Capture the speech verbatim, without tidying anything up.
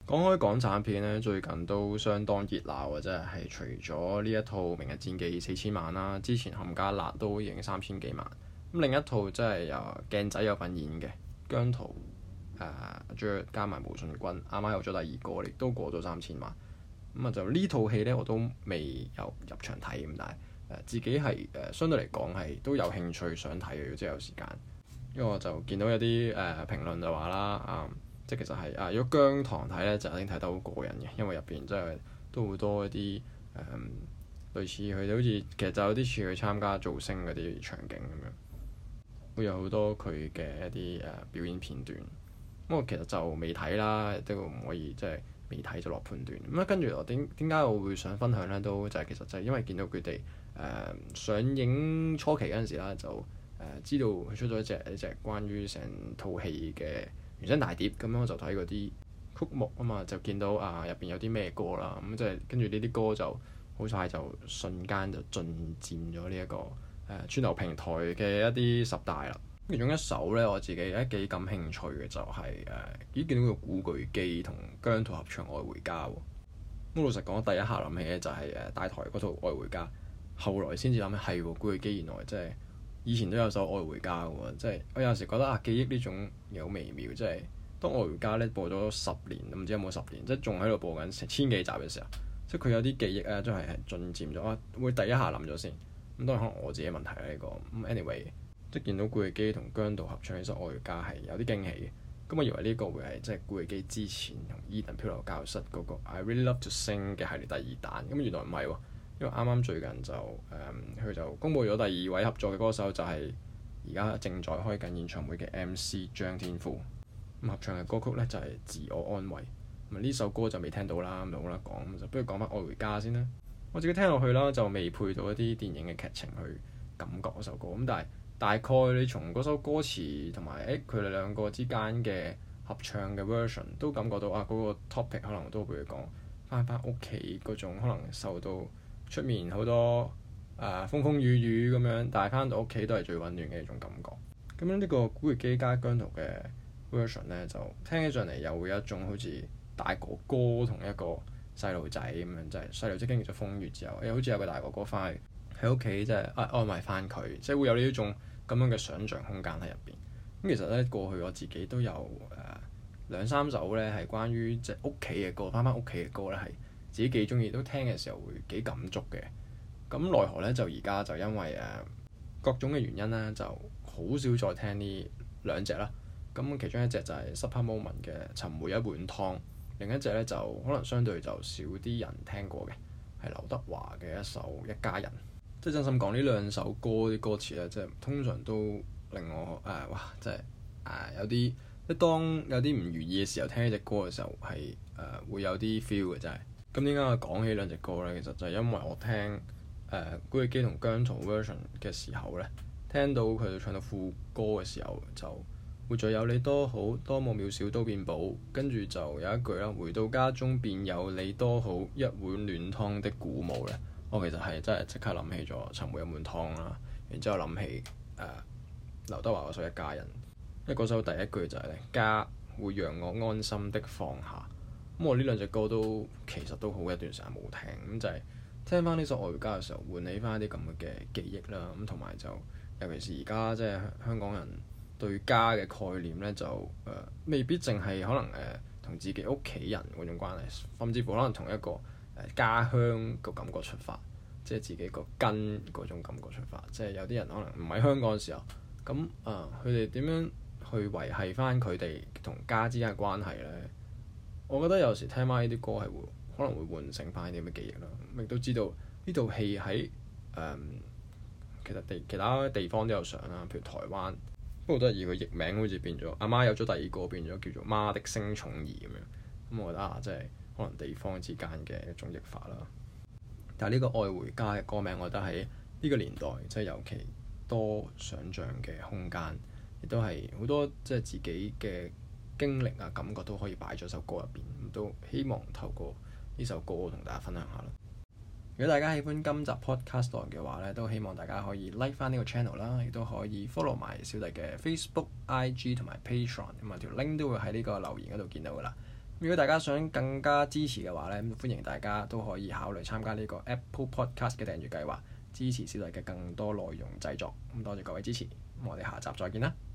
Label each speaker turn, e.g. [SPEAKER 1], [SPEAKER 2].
[SPEAKER 1] 講開港產片咧，最近都相當熱鬧嘅，真係係除咗呢一套《明日戰記》四千萬啦，之前《冚家辣》都已經三千幾萬。咁另一套真係由鏡仔有份演嘅姜濤，誒、呃，再加埋毛舜筠，啱啱有咗第二個，亦都過咗三千萬。咁啊，就呢套戲咧，我都未有入場睇咁，但係誒、呃、自己係誒、呃、相對嚟講係都有興趣想睇嘅，如果真係有時間。因為我就見到有啲誒、呃、評論就話啦，啊、嗯。即係其實係啊，如果姜糖睇咧，就一定睇得好過癮嘅，因為入邊真係都好多一啲誒、嗯、類似佢哋好似其實就有啲似去參加造星嗰啲場景咁樣，會有好多佢嘅一啲誒、呃、表演片段。咁我其實就未睇啦，都唔可以即係未睇就落判斷。咁啊，跟住我點點解我會想分享咧？都就係、是、其實就係因為見到佢哋誒上映初期嗰陣時啦，就誒、呃、知道佢出咗一隻一隻關於成套戲嘅原聲大碟，咁樣我就睇嗰啲曲目啊嘛，就見到啊入邊有啲咩歌啦，咁即係跟住呢啲歌就好快就瞬間就進佔咗呢一個誒串流平台嘅一啲十大啦。其中一首咧，我自己誒幾感興趣嘅就係、是、誒，咦、呃、見到個古巨基同姜濤合唱《愛回家》喎。咁老實講，第一下諗起咧就係誒大台嗰套《愛回家》，後來先至諗起係喎，古巨基原來即係。以前都有首《愛回家》嘅喎，即係我有時覺得啊，記憶呢種嘢好微妙，即係當《愛回家》咧播咗十年，唔知有冇十年，即係仲喺度播緊成千幾集嘅時候，即係佢有啲記憶咧，都係係進佔咗啊，會第一下諗咗先。咁當然可能我自己問題啦呢、呢個。咁 anyway，即係見到古巨基同姜濤合唱呢首《愛回家》係有啲驚喜嘅。咁我以為呢個會係即係古巨基之前同 Edan 漂流教室嗰個 I Really Love To Sing 嘅系列第二彈，咁原來唔係喎。因為啱啱最近就誒佢、嗯、就公佈咗第二位合作嘅歌手，就係而家正在開緊演唱會嘅 M C 張天賦。咁合唱嘅歌曲咧就係、是、自我安慰。咁呢首歌就未聽到啦，咁就冇得講，咁就不如講翻愛回家先啦。我自己聽落去啦，就未配到一啲電影嘅劇情去感覺嗰首歌。咁但係大概你從嗰首歌詞同埋誒佢哋兩個之間嘅合唱嘅 version 都感覺到啊，嗰、那個 topic 可能都會講翻返屋企嗰種可能受到出面好多誒、呃、風風雨雨咁樣，但係翻到屋企都係最溫暖嘅一種感覺。咁樣呢個古巨基加姜濤嘅 version 咧，就聽起上嚟又會有一種好似大哥哥同一個細路仔咁樣，就係細路仔經歷咗風雨之後，誒好似有個大哥哥翻去喺屋企，即係啊安慰翻佢，即係會有呢一種咁樣嘅想像空間喺入邊。咁其實咧過去我自己都有誒、呃、兩三首咧係關於即係屋企嘅歌，翻翻屋企嘅歌咧係。自己幾中意，都聽嘅時候會幾感觸嘅。咁奈何咧，就而家就因為誒、呃、各種嘅原因咧，就好少再聽呢兩隻啦。咁其中一隻就係 Supper Moment 嘅《尋回一碗湯》，另一隻咧就可能相對就少啲人聽過嘅，係劉德華嘅一首《一家人》。即係真心講呢兩首歌啲歌詞咧，即係通常都令我誒、呃、哇，即係誒、呃、有啲即係當有啲唔如意嘅時候聽呢隻歌嘅時候係誒、呃、會有啲 feel 嘅，真係。咁點解我講起兩隻歌咧？其實就係因為我聽誒、呃、古巨基同姜濤 version 嘅時候咧，聽到佢哋唱到副歌嘅時候，就活在有你多好，多麼渺小都變寶。跟住就有一句啦，回到家中便有你多好，一碗暖湯的鼓舞咧。我其實係真係即刻諗起咗尋回一碗湯啦，然之後諗起誒劉德華嗰首《一家人》，因為嗰首第一句就係、是、咧，家會讓我安心的放下。咁我呢兩隻歌都其實都好一段時間冇聽，咁就係聽翻呢首《愛回家》嘅時候，喚起翻一啲咁嘅記憶啦。咁同埋就尤其是而家即係香港人對家嘅概念咧，就誒、呃、未必淨係可能誒同、呃、自己屋企人嗰種關係，甚至乎可能同一個誒、呃、家鄉個感覺出發，即係自己個根嗰種感覺出發。即係有啲人可能唔喺香港嘅時候，咁啊佢哋點樣去維繫翻佢哋同家之間嘅關係咧？我覺得有時聽翻呢啲歌係會可能會喚醒翻啲咁嘅記憶啦，亦都知道呢套戲喺誒其實地其他地方都有上啦，譬如台灣，不過都係以佢譯名好似變咗阿媽有咗第二個變咗叫做媽的星寵兒咁樣，咁我覺得啊，即係可能地方之間嘅一種譯法啦。但係呢個愛回家嘅歌名，我覺得喺呢個年代即係尤其多想像嘅空間，亦都係好多即係自己嘅經歷啊，感覺都可以擺咗首歌入邊，咁都希望透過呢首歌同大家分享下啦。如果大家喜歡今集 podcast 嘅話咧，都希望大家可以 like 翻呢個 channel 啦，亦都可以 follow 埋小弟嘅 Facebook、I G 同埋 Patreon，咁啊條 link 都會喺呢個留言嗰度見到噶啦。 如果大家想更加支持嘅話咧，歡迎大家都可以考慮參加呢個 Apple Podcast 嘅訂閱計劃，支持小弟嘅更多內容製作。咁多謝各位支持，咁我哋下集再見啦〜